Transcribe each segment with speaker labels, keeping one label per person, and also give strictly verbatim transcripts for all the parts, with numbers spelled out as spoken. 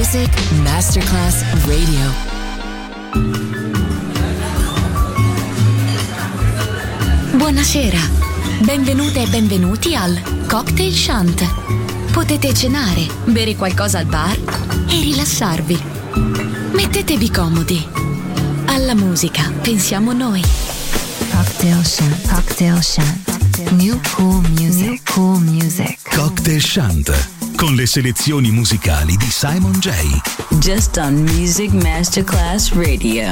Speaker 1: Music Masterclass Radio. Buonasera, benvenute e benvenuti al Cocktail Shant. Potete cenare, bere qualcosa al bar e rilassarvi. Mettetevi comodi. Alla musica pensiamo noi.
Speaker 2: Cocktail Shant, Cocktail Shant. New cool music, New cool music.
Speaker 3: Cocktail Shant, con le selezioni musicali di Simon J.
Speaker 4: Just on Music Masterclass Radio.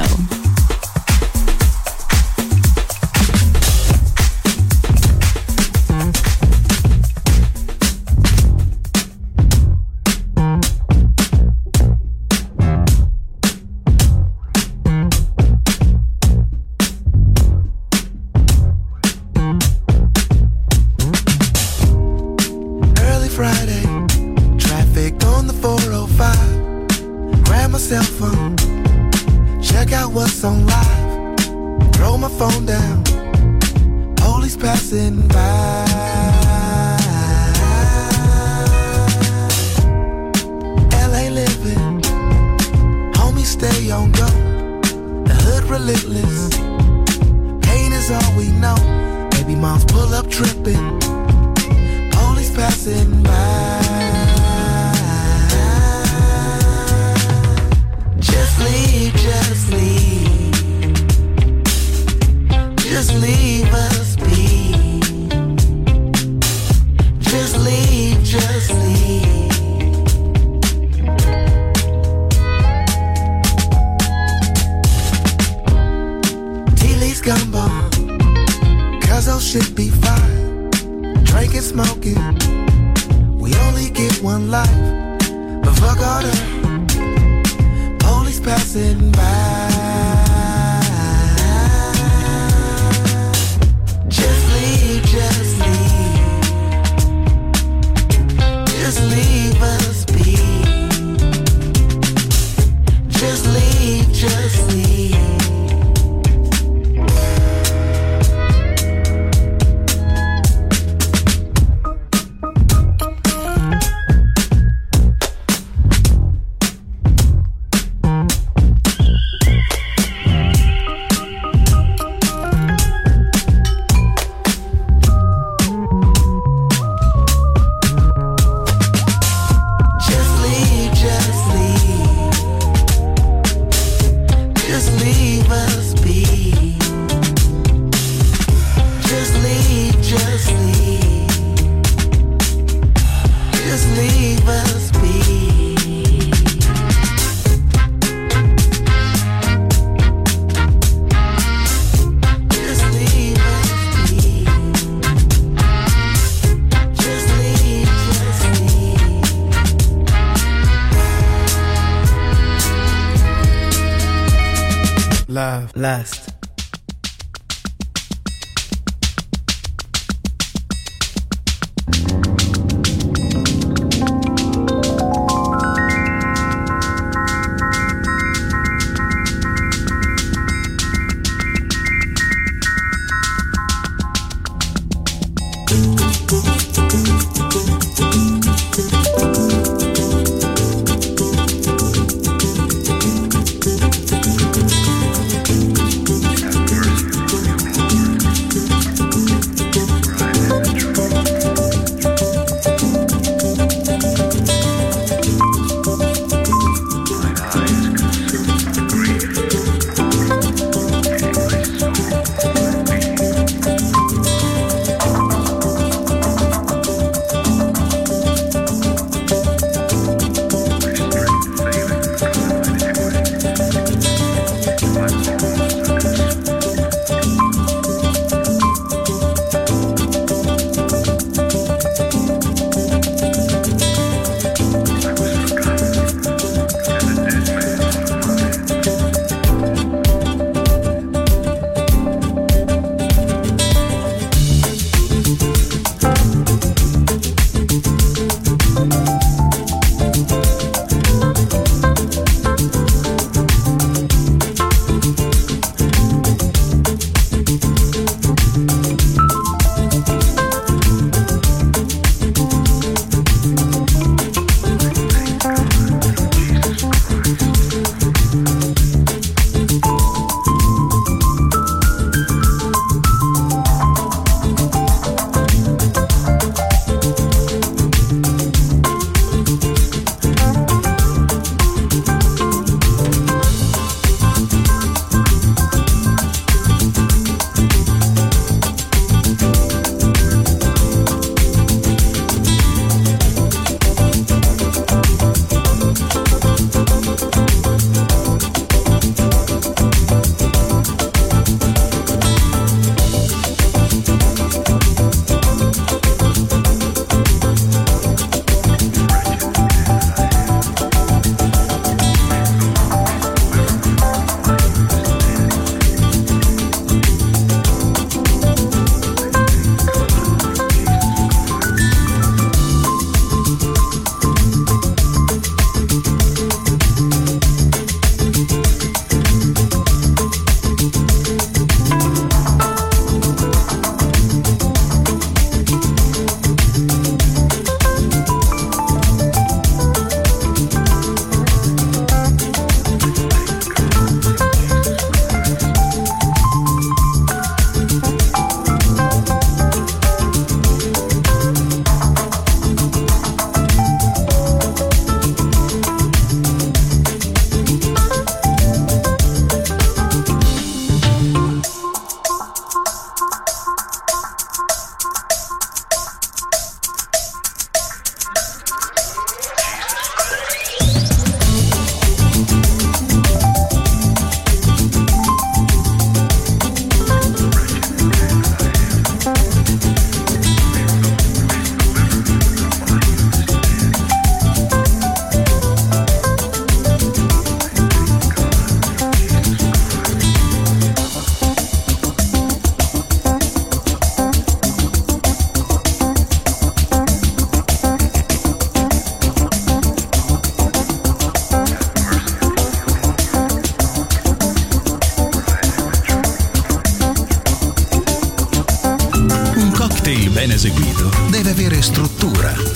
Speaker 5: Love, lust.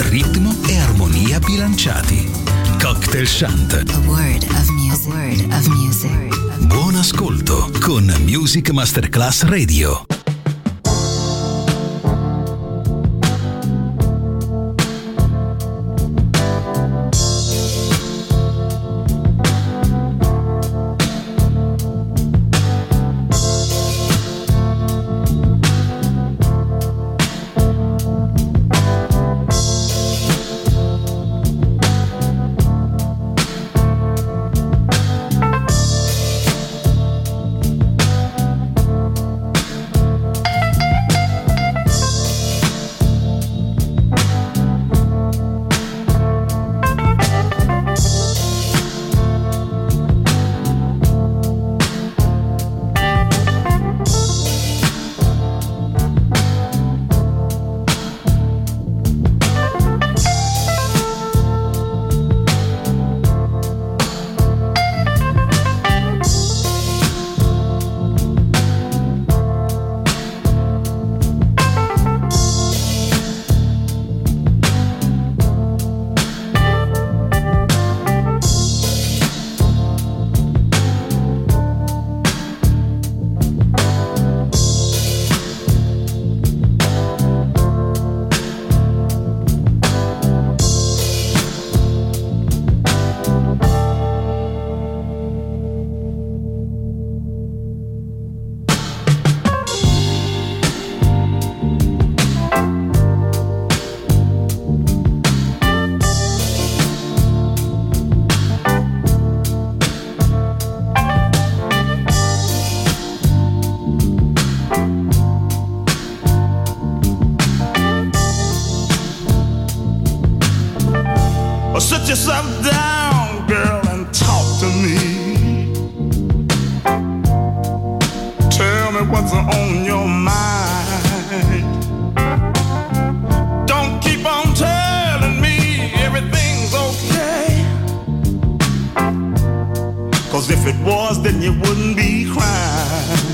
Speaker 3: ritmo e armonia bilanciati. Cocktail Chant.
Speaker 2: A word of music. A word of music.
Speaker 3: Buon ascolto con Music Masterclass Radio.
Speaker 6: Sit yourself down, girl, and talk to me. Tell me what's on your mind. Don't keep on telling me everything's okay, 'cause if it was, then you wouldn't be crying.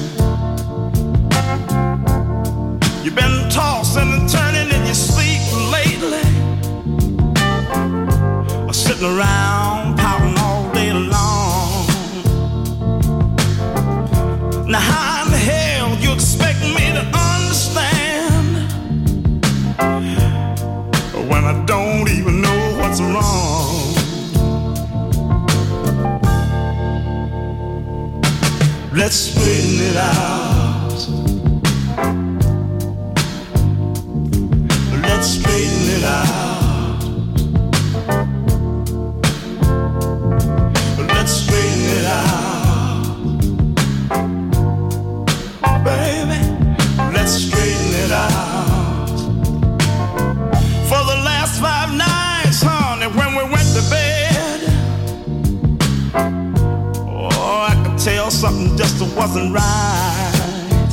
Speaker 6: You've been tossing and turning in your sleep lately, sitting around pouting all day long. Now how in the hell you expect me to understand when I don't even know what's wrong? Let's straighten it out. Let's straighten it out. Something just wasn't right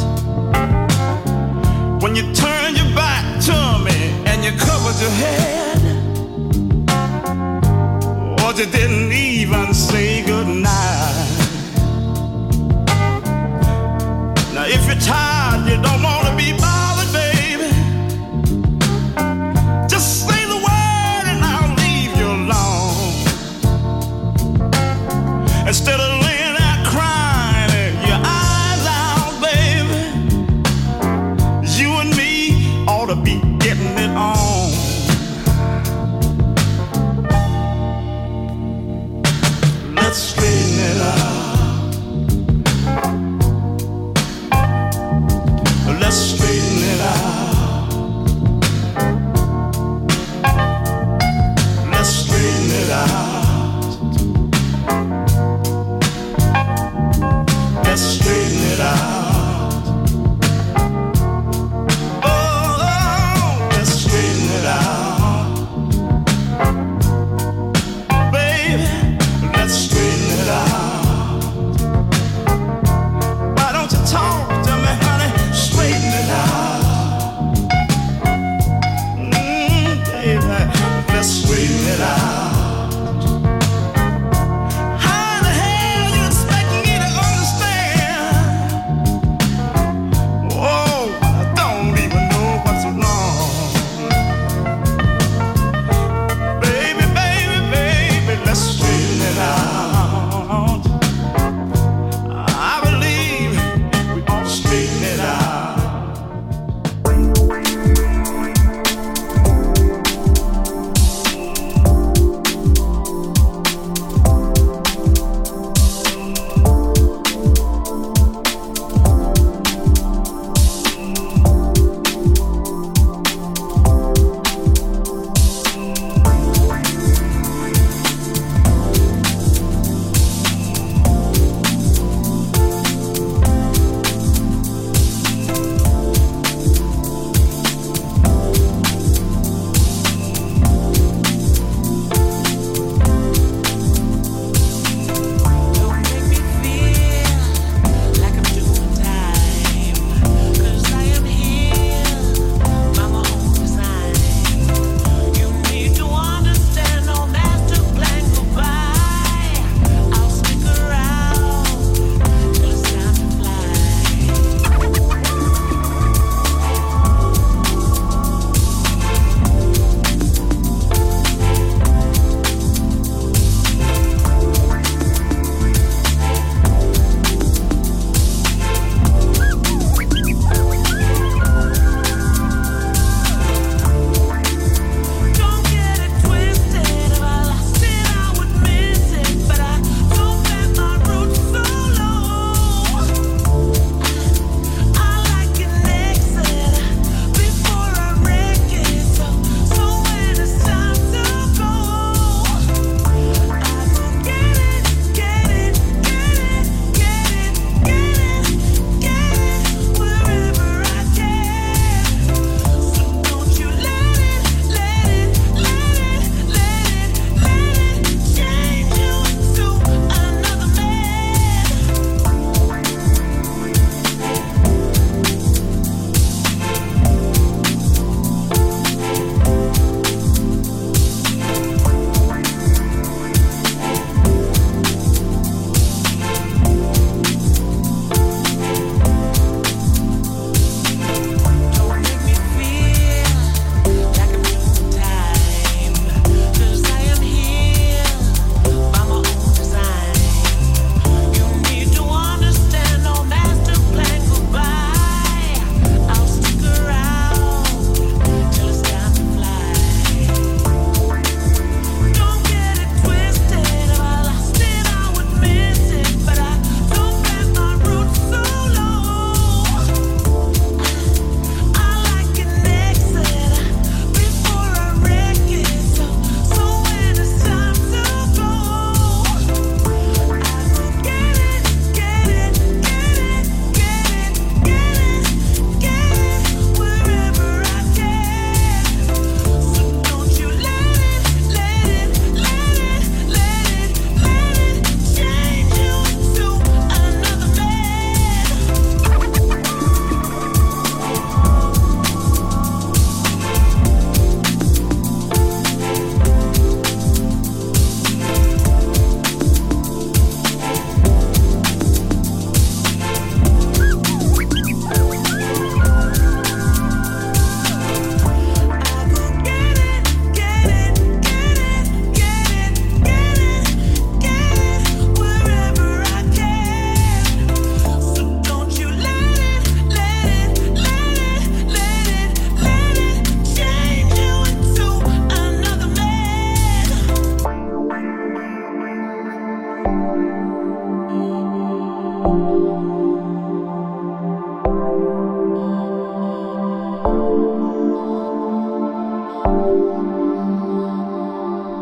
Speaker 6: when you turned your back to me and you covered your head, or you didn't even say goodnight. Now if you're tired, you don't want to be bothered, baby, just say the word and I'll leave you alone. Instead of be getting it on.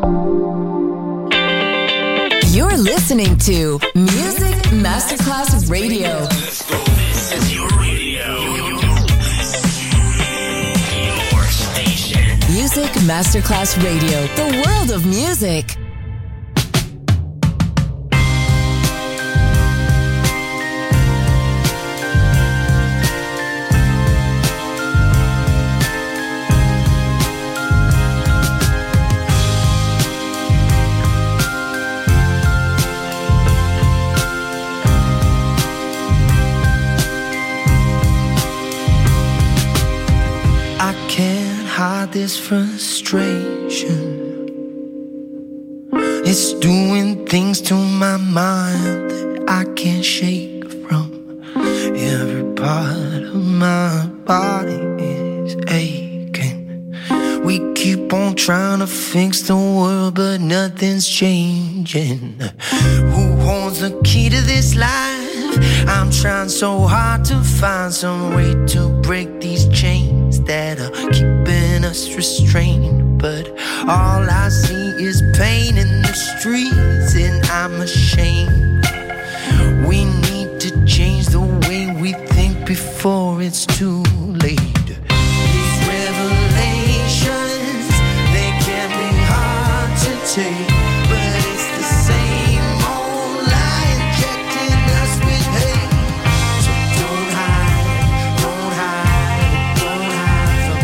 Speaker 7: You're listening to Music Masterclass Radio.
Speaker 3: Let's go. This is your radio. Your station.
Speaker 7: Music Masterclass Radio. The world of music.
Speaker 8: This frustration, it's doing things to my mind that I can't shake from. Every part of my body is aching. We keep on trying to fix the world, but nothing's changing. Who holds the key to this life? I'm trying so hard to find some way to break these chains that are keeping us restrained, but all I see is pain in the streets, and I'm ashamed. We need to change the way we think before it's too late. These revelations, they can be hard to take, but it's the same old lie injecting us with hate. So don't hide, don't hide, don't hide from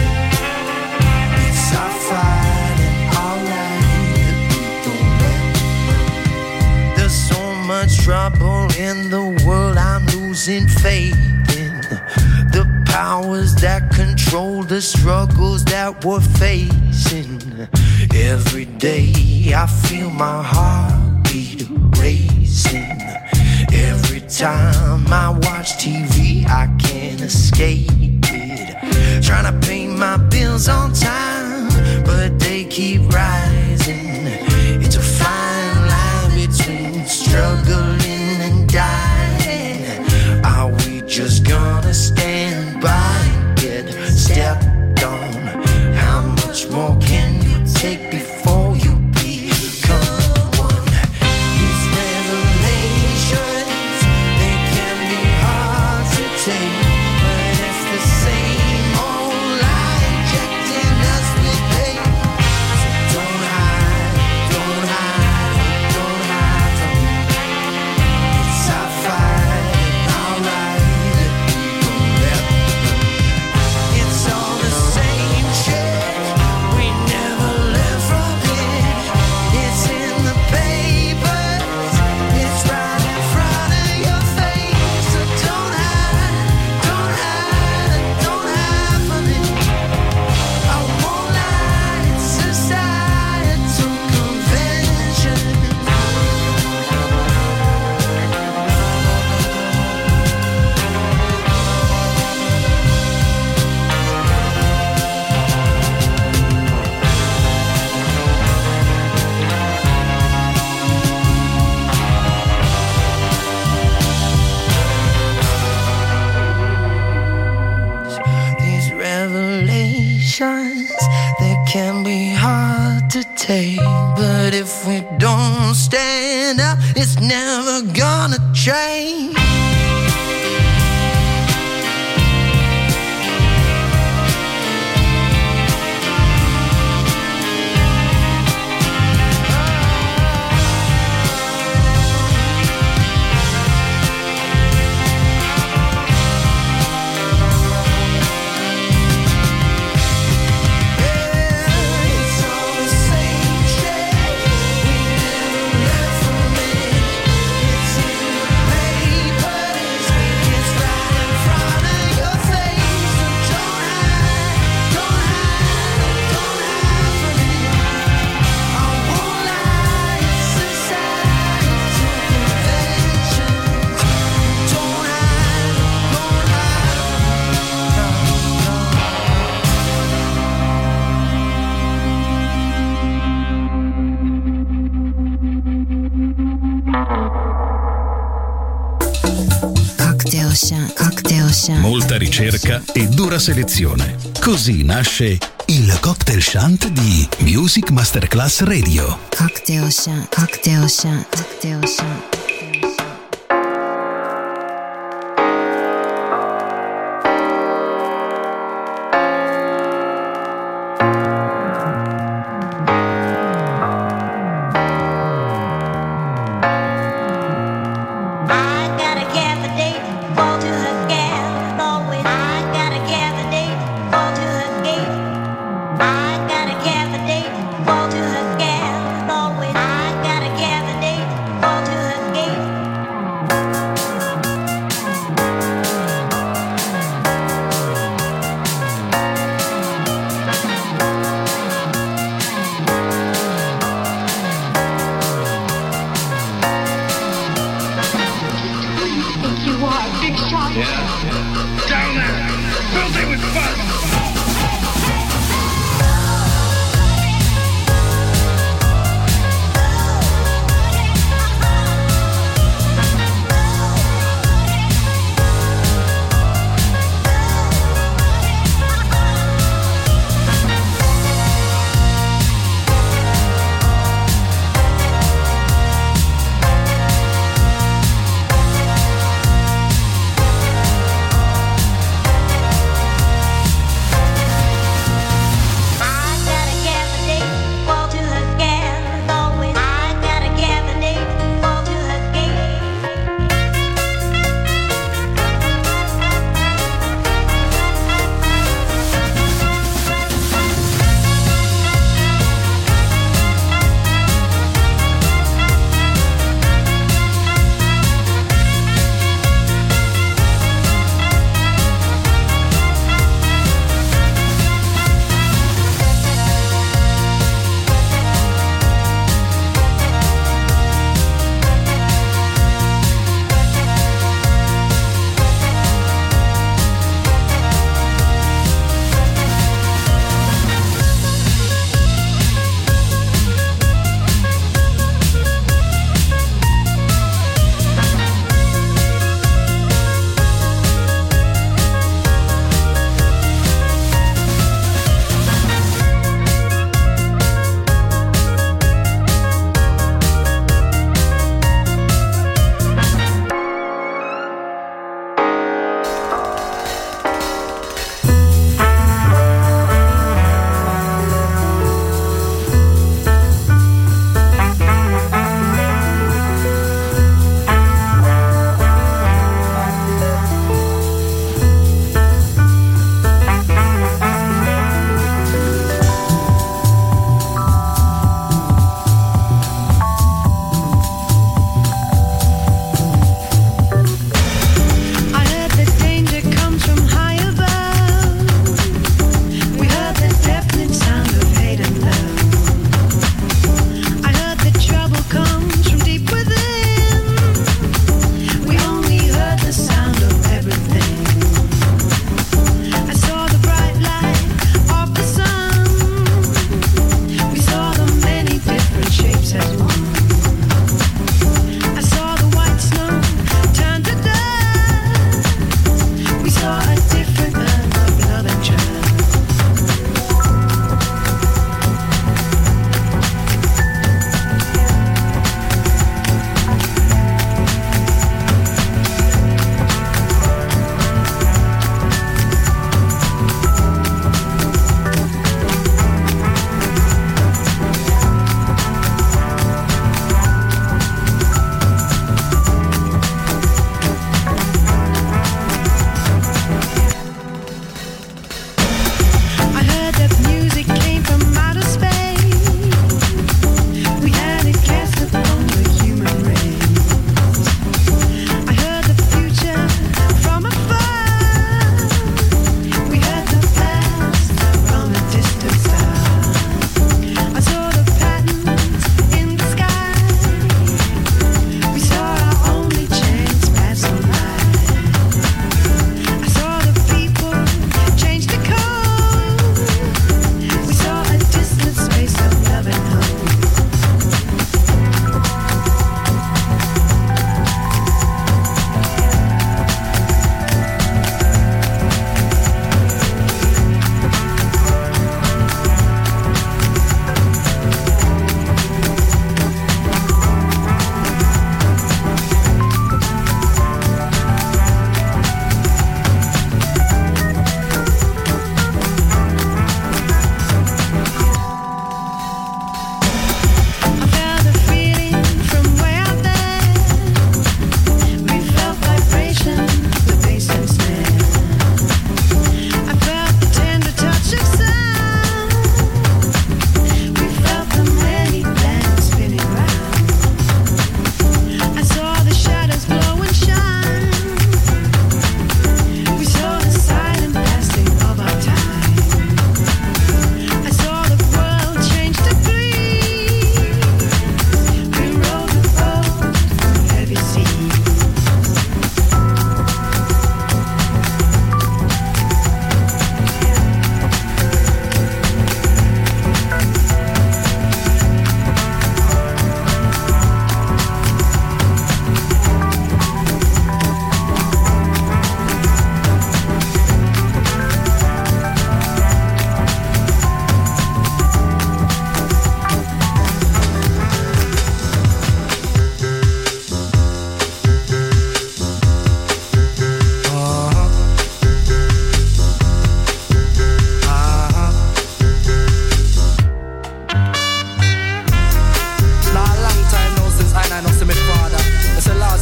Speaker 8: it. It's our fight and our right that we don't let. There's so much trouble in the world, I'm losing faith in the powers that control the struggles that we're facing. Every day I feel my heartbeat racing. Every time I watch T V I can't escape it. Trying to pay my bills on time, but they keep rising. It's a fine line between struggling and dying. Are we just gonna stand by and get stepped on? How much more can you take before you become one? These revelations, they can be hard to take, but it's the same old lie injecting us with hate. So don't hide, don't hide, don't hide from me. It's our fight and our right that we don't let. It's all the same shit, we never live from it. It's in the papers, it's right in front of your face. So don't hide, don't hide, don't hide from it. I won't lie, it's societal convention. These revelations, they can be hard to take, but if we don't stand up, it's never gonna change. It's all the same shit, we never live from it. It's in the papers, it's right in front of your face. So don't hide, don't hide, don't hide from it. I won't lie, it's societal conventions. Don't hide, don't hide.
Speaker 2: Cocktail Chant, Cocktail Chant.
Speaker 3: Molta ricerca e dura selezione. Così nasce il cocktail shant di Music Masterclass Radio.
Speaker 2: Cocktail shant, cocktail shant, cocktail shant.
Speaker 9: Fall to her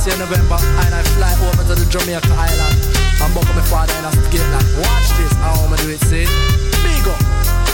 Speaker 9: This year November, and I fly over to the Jamaica Island. I'm back with my father and I get like, watch this, how I'ma do it, see? Big up.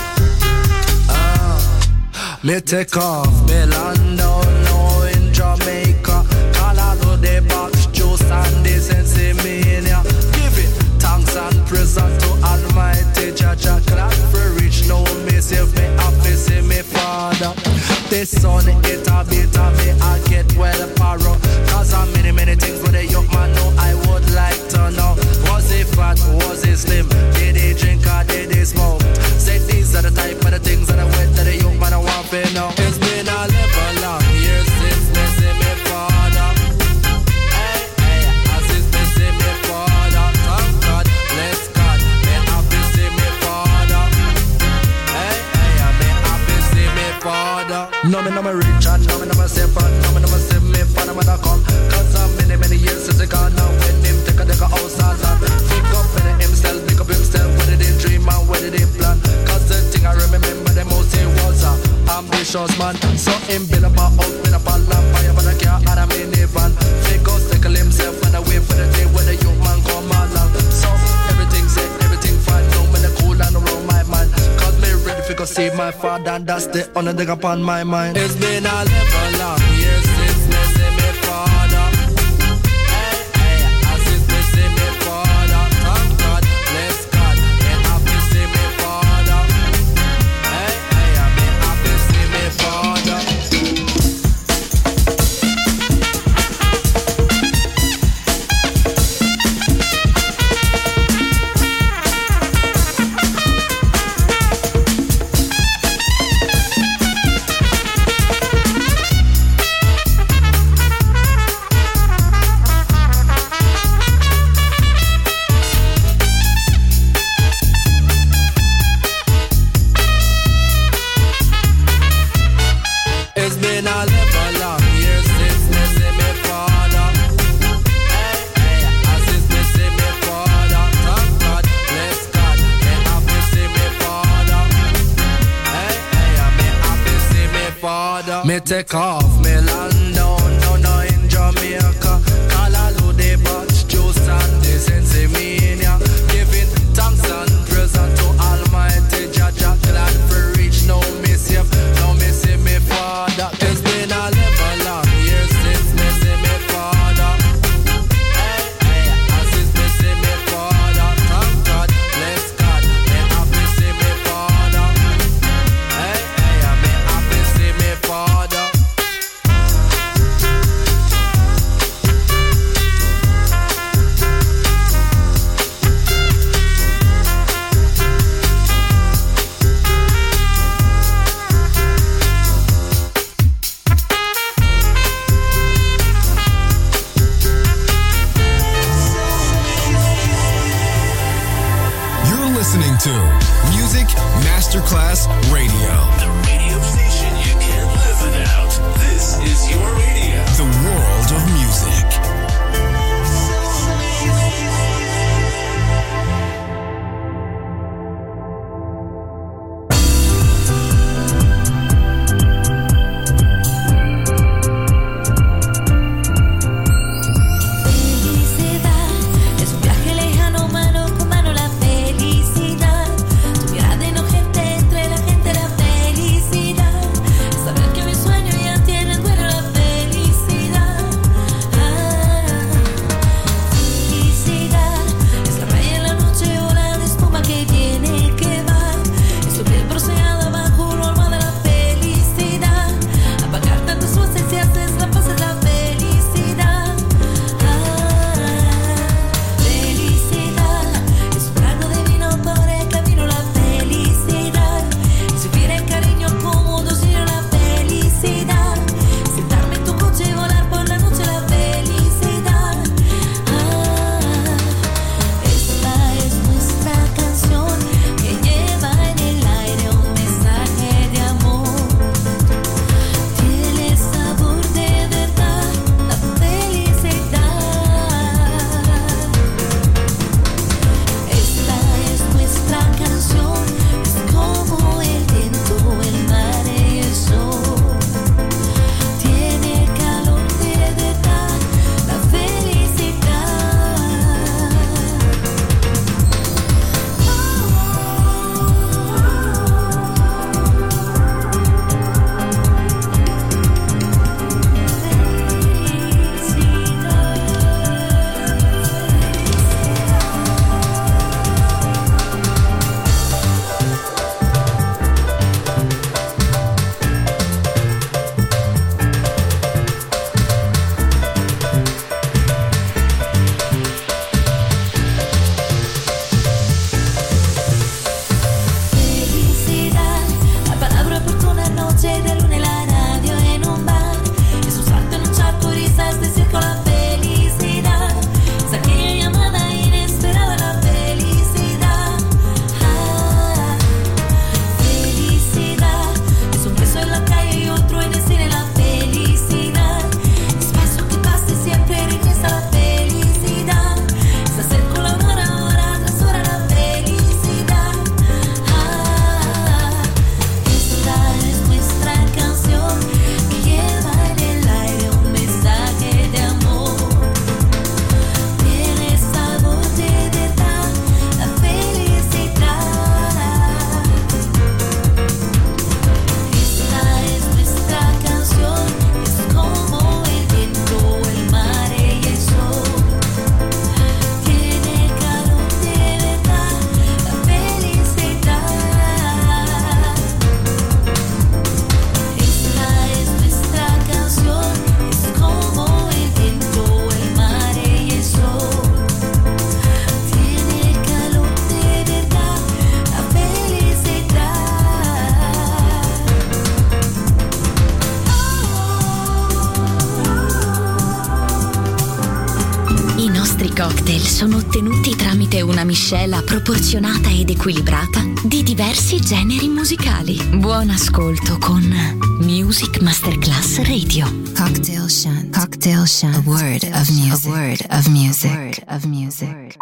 Speaker 9: Ah, me take off, me land down now in Jamaica. Call out to the box, juice and this and see me in ya. Give it thanks and praise to Almighty Jah Jah. Clap for rich, no me save me happy, see me father. This sun, it a bit of me, I get well paro. Cause I'm many, many things with a young man know I would like to know. Was he fat, was he slim? Did he drink or did he smoke? Say these are the type of the things that I went to the young man I want to know. It's been a live long years since me see me father. Hey, hey, as it's me see me father. Thank God, bless God, me happy see me father. Hey, hey, me happy see me father. No me no me rich and no me no me safe and no me no me see me father mother come. Cause I'm many many years since he gone now. When him take a take a house and land. Pick up in himself, pick up himself. What did he dream and what did he plan? Cause the thing I remember the most he was a ambitious man. So him build up a house, build up a lamp, buy up a car and a minivan. Take us tackle himself and away for the day when the young man come along. So everything set, everything fine. No me the cool and around my mind. Cause me ready for go see my father and that's the only thing upon my mind. It's been a live long years since me see me father. Hey, hey, as it's me see me father. Thank God, bless God, me happy see me father. Hey, hey, me happy see me father. It's been a live long years since me see me father. Hey, hey, as it's me see me father. Thank God, bless God, me happy see me father. Hey, hey, me happy see me father. Me take off, me land down, down, down in Jamaica. Call all of the box, juice and this and see me in ya. Giving thanks and praise to Almighty Jah Jah. Glad for reach, no me safe, no me see me father. It's been a live long years since me see me father. Hey, hey, as it's me see me father. Thank God, bless God, me happy see me father. Hey, hey, me happy see me father.
Speaker 1: cocktail sono ottenuti tramite una miscela proporzionata ed equilibrata di diversi generi musicali. Buon ascolto con Music Masterclass Radio.
Speaker 2: Cocktail Shant. Cocktail Shant. A word of music. A word of music. A word of music.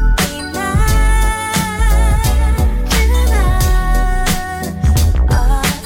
Speaker 10: Oh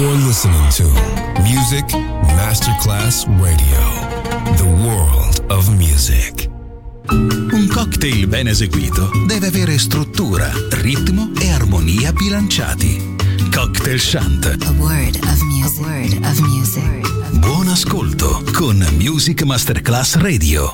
Speaker 10: You're listening to Music Masterclass Radio, the world of music.
Speaker 3: Un cocktail ben eseguito deve avere struttura, ritmo e armonia bilanciati. Cocktail Shant.
Speaker 2: A word of music. A word of music.
Speaker 3: Buon ascolto con Music Masterclass Radio.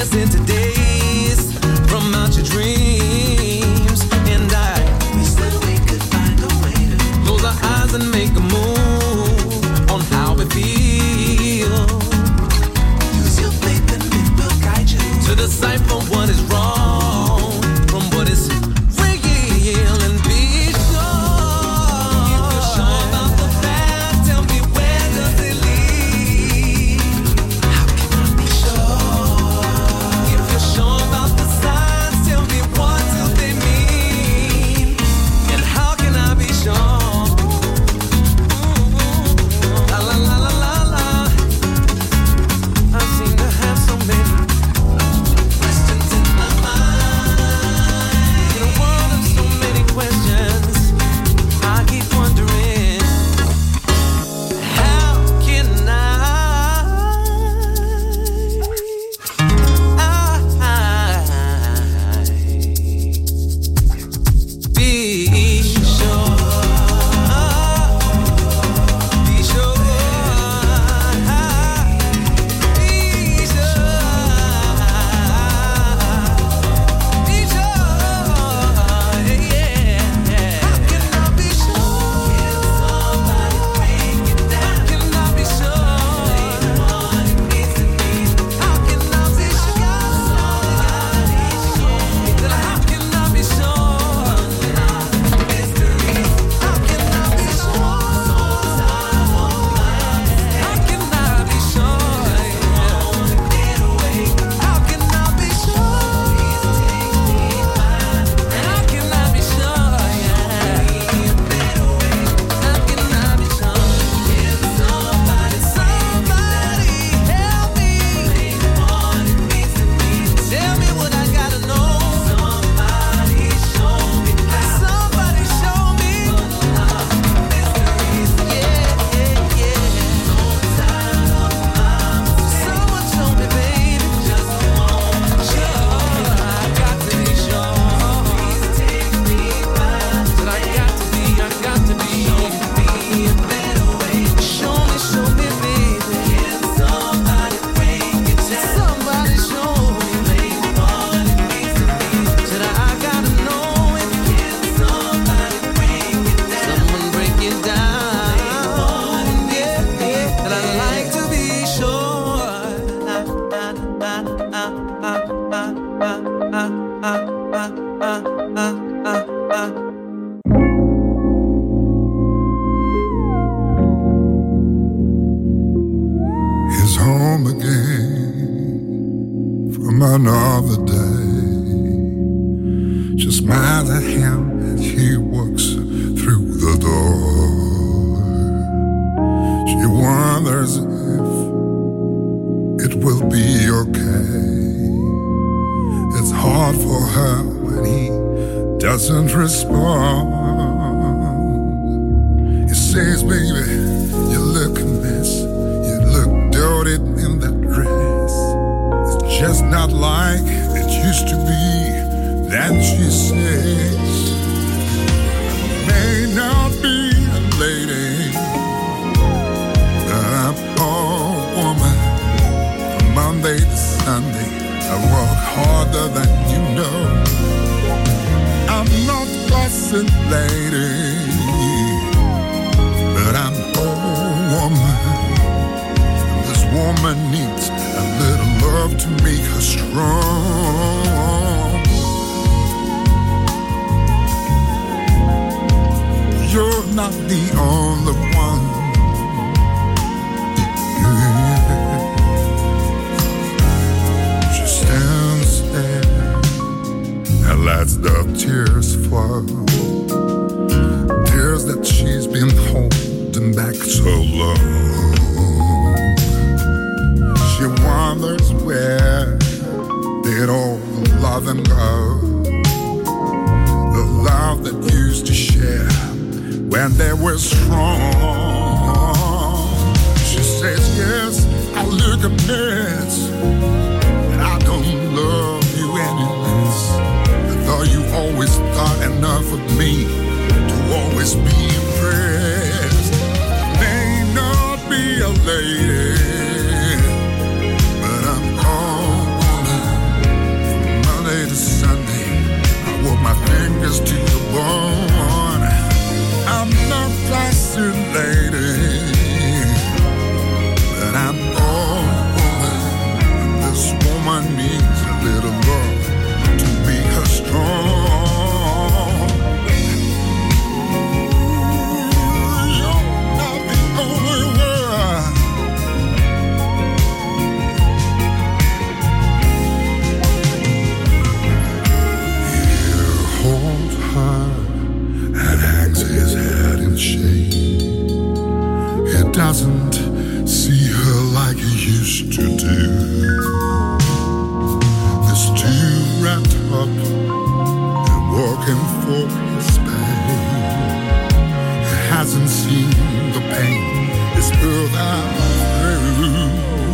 Speaker 8: dancing to days from out your dreams. And I wish that we could find a way to close our eyes and make a move on how we feel. Use your faith and it will guide you to decipher what is wrong from what is real. And be sure, if you're sure about the past, tell me where does it lead? How can I be sure? If you're sure about the signs, tell me what do they mean? And how can I be sure? La la la la la la. I seem to have so many questions in my mind. In a world of so many questions, I keep wondering, how can I, I be sure, be sure, be sure, be sure, yeah. How can I be sure? Can somebody break it down? How can I be sure? What it means to me. How can I be sure? How can I be sure? Mysteries. How can I be sure? How can I be sure? Get away. How can I be sure? And how can I be sure? Get away. How can I be sure? Can somebody, somebody help me? What it means to me. Tell me what I gotta know. Somebody show me how. Somebody show me. Mysteries. Yeah, yeah, yeah. Someone show me, baby. Just one. Sure, I got to be sure. Take me back. But I got to be, I got to be. Be a better way. Show me, show me, baby. Can somebody break it down? Somebody show me, baby, what it means to me. Said I gotta know if can somebody break it down? Someone break it down. Yeah, yeah. That I like to be sure. Ah, ah, ah, ah, ah, ah, ah, ah, ah, ah, ah, ah, ah.
Speaker 11: He's home again from another day. She smiles at him as he walks through the door. She wonders if it will be okay. It's hard for her when he doesn't respond. He says, baby, you look a mess. You look dirty in that dress. It's just not like it used to be. Then she says, I may not be a lady, but I'm a woman. From Monday to Sunday, I work harder than you know. I'm not fussing lady, but I'm a woman. This woman needs a little love to make her strong. You're not the only one. She stands there and lets the tears fall. Tears that she's been holding back so long. She wonders where did all the loving go? The love that used to share when they were strong. She says, yes, I look a mess, and I don't love you any less. Though you always thought enough of me to always be impressed. I may not be a lady, but I'm all woman. for his pain. He hasn't seen the pain it's built out through.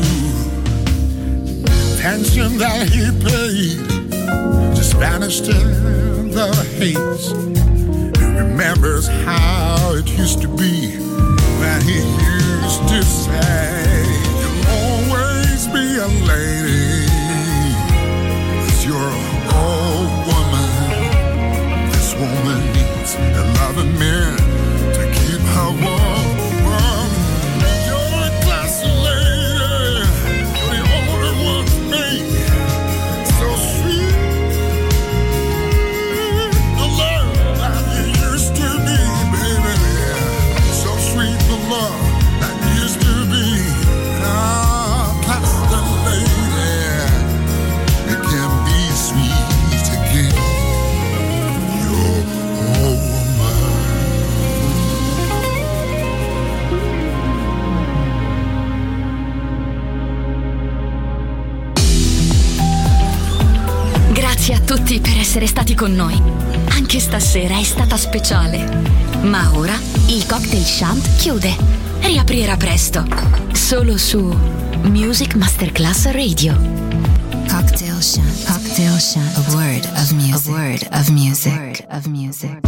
Speaker 11: Pension that he paid just vanished in the haze. He remembers how it used to be when he used to say, "You'll always be a lady, 'cause you're an old woman. This woman needs a loving man to keep her warm, warm. You're a classy lady, you're the only one for me. So sweet, the love that you used to be, baby. So sweet, the love that used to be. Ah, classy lady, it can be sweet again. You're all
Speaker 1: Grazie a tutti per essere stati con noi. Anche stasera è stata speciale. Ma ora il Cocktail Shant chiude. Riaprirà presto. Solo su Music Masterclass Radio.
Speaker 2: Cocktail Shant. Cocktail Shant. A word of music. A word of music. A word of music.